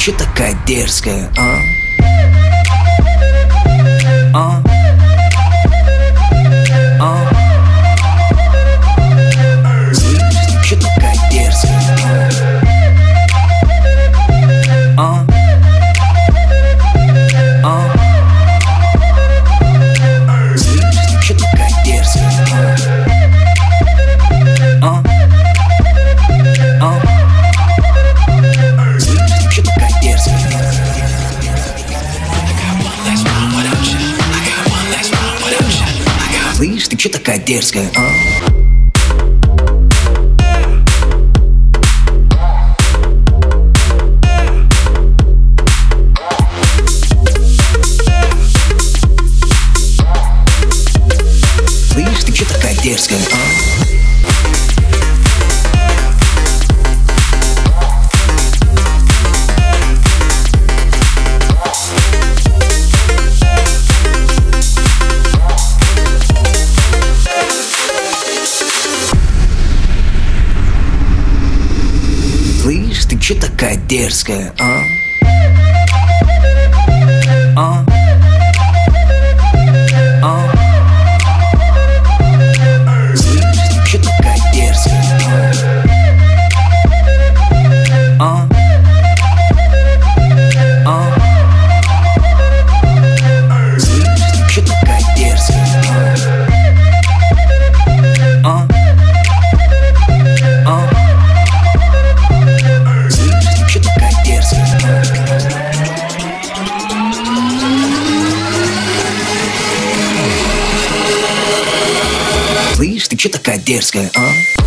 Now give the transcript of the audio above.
чё такая дерзкая, а? А? А? Слышь, чё такая дерзкая, а? А? Слышь, чё такая дерзкая, а? А? Слышь, чё такая дерзкая? Слышь, ты чё такая дерзкая, а? Слышь, ты чё такая дерзкая, а? Слышь, ты чё такая дерзкая, а? А? А? Слышь, ты чё такая дерзкая, а? А? Слышь, ты чё такая дерзкая, а? А? Слышь, ты чё такая дерзкая, Слышь, ты чё такая дерзкая, а?